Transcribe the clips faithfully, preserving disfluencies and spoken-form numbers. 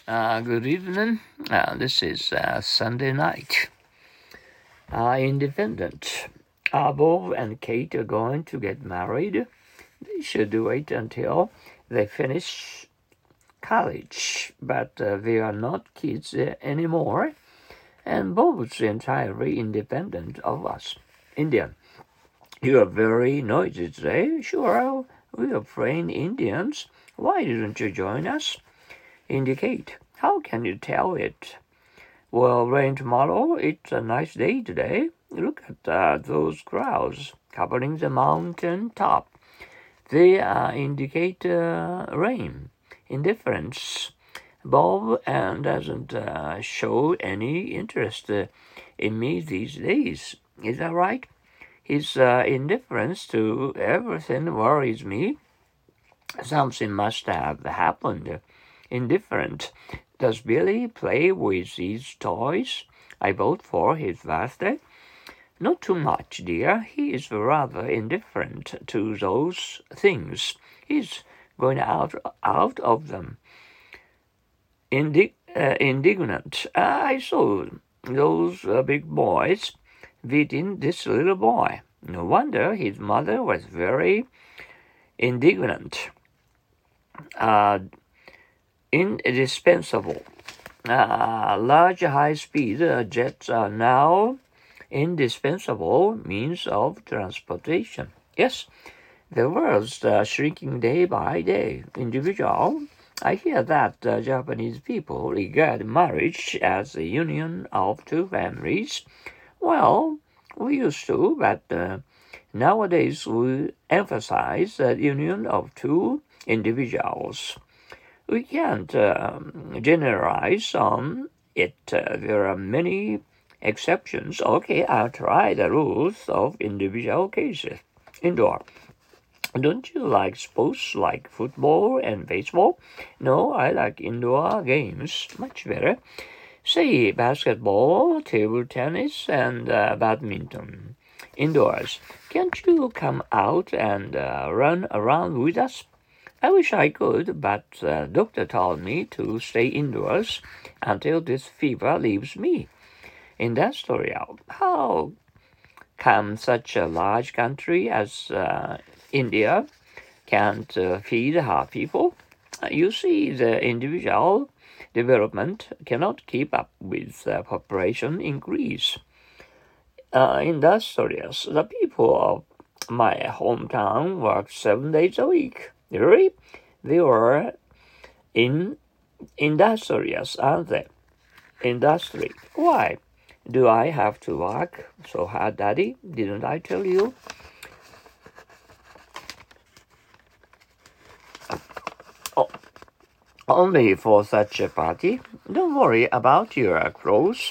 Uh, good evening. Uh, this is uh, Sunday night. Uh, independent. Uh, Bob and Kate are going to get married. They should wait until they finish college, but uh, they are not kids uh, anymore. And Bob's entirely independent of us. Indian. You are very noisy today. Sure, we are playing Indians. Why didn't you join us? Indicate. How can you tell it? Well, rain tomorrow. It's a nice day today. Look at uh, those clouds covering the mountain top. They uh, indicate uh, rain. Indifference. Bob uh, doesn't uh, show any interest uh, in me these days. Is that right? His uh, indifference to everything worries me. Something must have happened. Indifferent. Does Billy play with these toys I bought for his birthday? Not too much, dear. He is rather indifferent to those things. He's going out out of them. Indig- uh, indignant. I saw those uh, big boys beating this little boy. No wonder his mother was very indignant. Uh, indispensable. Uh, large high-speed uh, jets are now indispensable means of transportation. Yes, the world's uh, shrinking day by day. Individual. I hear that uh, Japanese people regard marriage as a union of two families. Well, we used to, but uh, nowadays we emphasize the union of two individuals. We can't um, generalize on it. Uh, there are many exceptions. Okay, I'll try the rules of individual cases. Indoor. Don't you like sports like football and baseball? No, I like indoor games much better. Say basketball, table tennis, and uh, badminton. Indoors. Can't you come out and uh, run around with us? I wish I could, but the uh, doctor told me to stay indoors until this fever leaves me. Industrial. How come such a large country as uh, India can't uh, feed her people? You see, the individual development cannot keep up with the population increase. Uh, industrious. The people of my hometown work seven days a week. Really? They were in industrious, aren't they? Industry. Why do I have to work so hard, Daddy? Didn't I tell you? Oh, only for such a party. Don't worry about your clothes.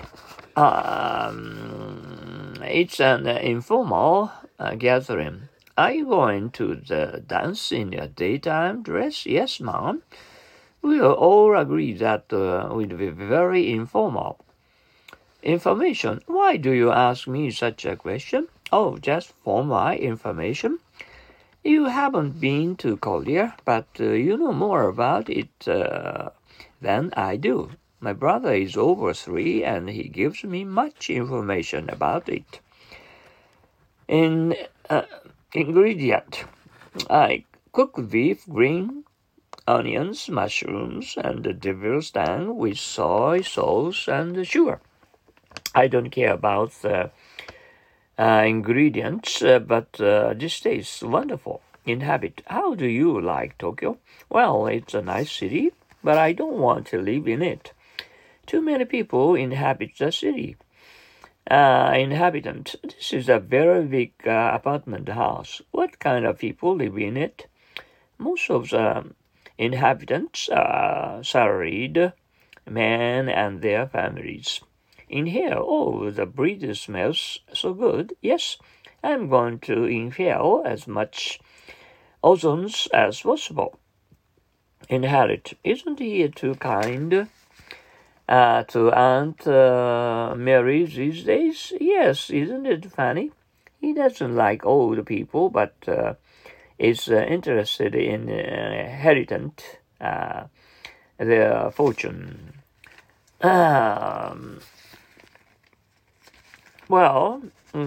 Um, it's an informal uh, gathering. Are you going to the dance in your daytime dress? Yes, Mom. We'll all agree that uh, will be very informal. Information. Why do you ask me such a question? Oh, just for my information. You haven't been to Korea, but uh, you know more about it uh, than I do. My brother is over three, and he gives me much information about it. In uh, ingredient, I cook beef, green onions, mushrooms, and the devil's tongue with soy sauce and sugar. I don't care about the uh, ingredients, uh, but uh, this tastes wonderful. Inhabit. How do you like Tokyo? Well, it's a nice city, but I don't want to live in it. Too many people inhabit the city. Uh, inhabitant. This is a very big uh, apartment house. What kind of people live in it? Most of the inhabitants are salaried men and their families. In here, oh, the breeze smells so good. Yes, I'm going to inhale as much ozone as possible. Inherit. Isn't he too kind uh, to Aunt uh, Mary these days? Yes, isn't it funny? He doesn't like old people, but uh, is uh, interested in uh, inheritance. Uh, their fortune. Um, well,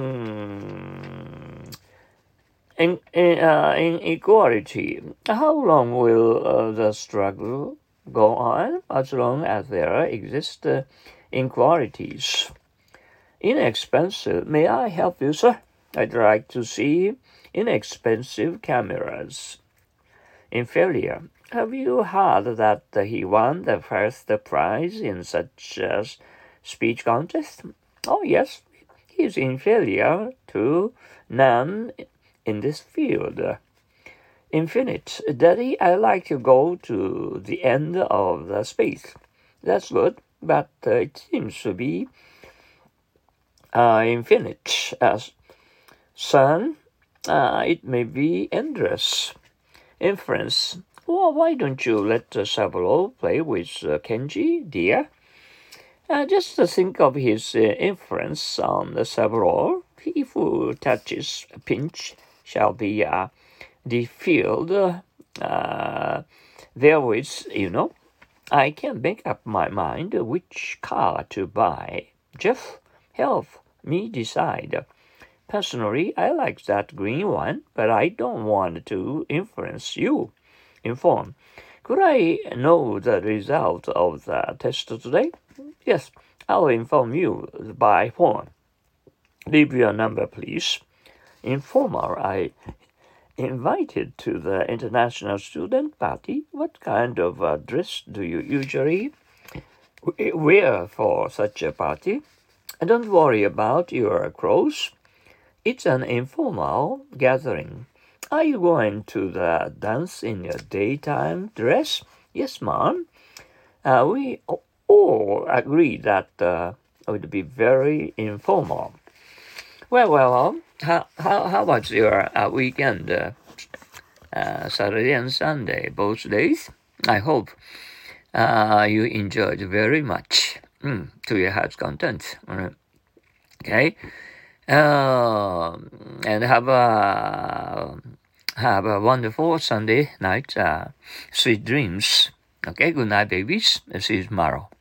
mm, in, in, uh, inequality. How long will uh, the struggle go on? As long as there exist uh, inequalities. Inexpensive. May I help you, sir? I'd like to see inexpensive cameras. Inferior. Have you heard that he won the first prize in such a speech contest? Oh, yes. He is inferior to none in this field. Infinite. Daddy, I like to go to the end of the space. That's good, but uh, it seems to be uh, infinite. As son, uh, it may be endless. Inference. Well, why don't you let uh, Saburo play with uh, Kenji, dear? Uh, just uh, think of his uh, influence on the Saburo. He who touches a pinch shall be uh, defilled uh, therewith, you know. I can't make up my mind which car to buy. Jeff, help me decide. Personally, I like that green one, but I don't want to influence you. Inform. Could I know the result of the test today? Yes, I'll inform you by phone. Leave your number, please. Informer, I invited to the international student party. What kind of uh, dress do you usually wear for such a party? Don't worry about your clothes. It's an informal gathering. Are you going to the dance in your daytime dress? Yes, ma'am. Uh, we all agree that uh, it would be very informal. Well, well, well how, how, how was your uh, weekend, uh, uh, Saturday and Sunday, both days? I hope uh, you enjoyed very much mm, to your heart's content. Okay. Um, and have a have a wonderful Sunday night. Uh, sweet dreams. Okay, good night, babies. See you tomorrow.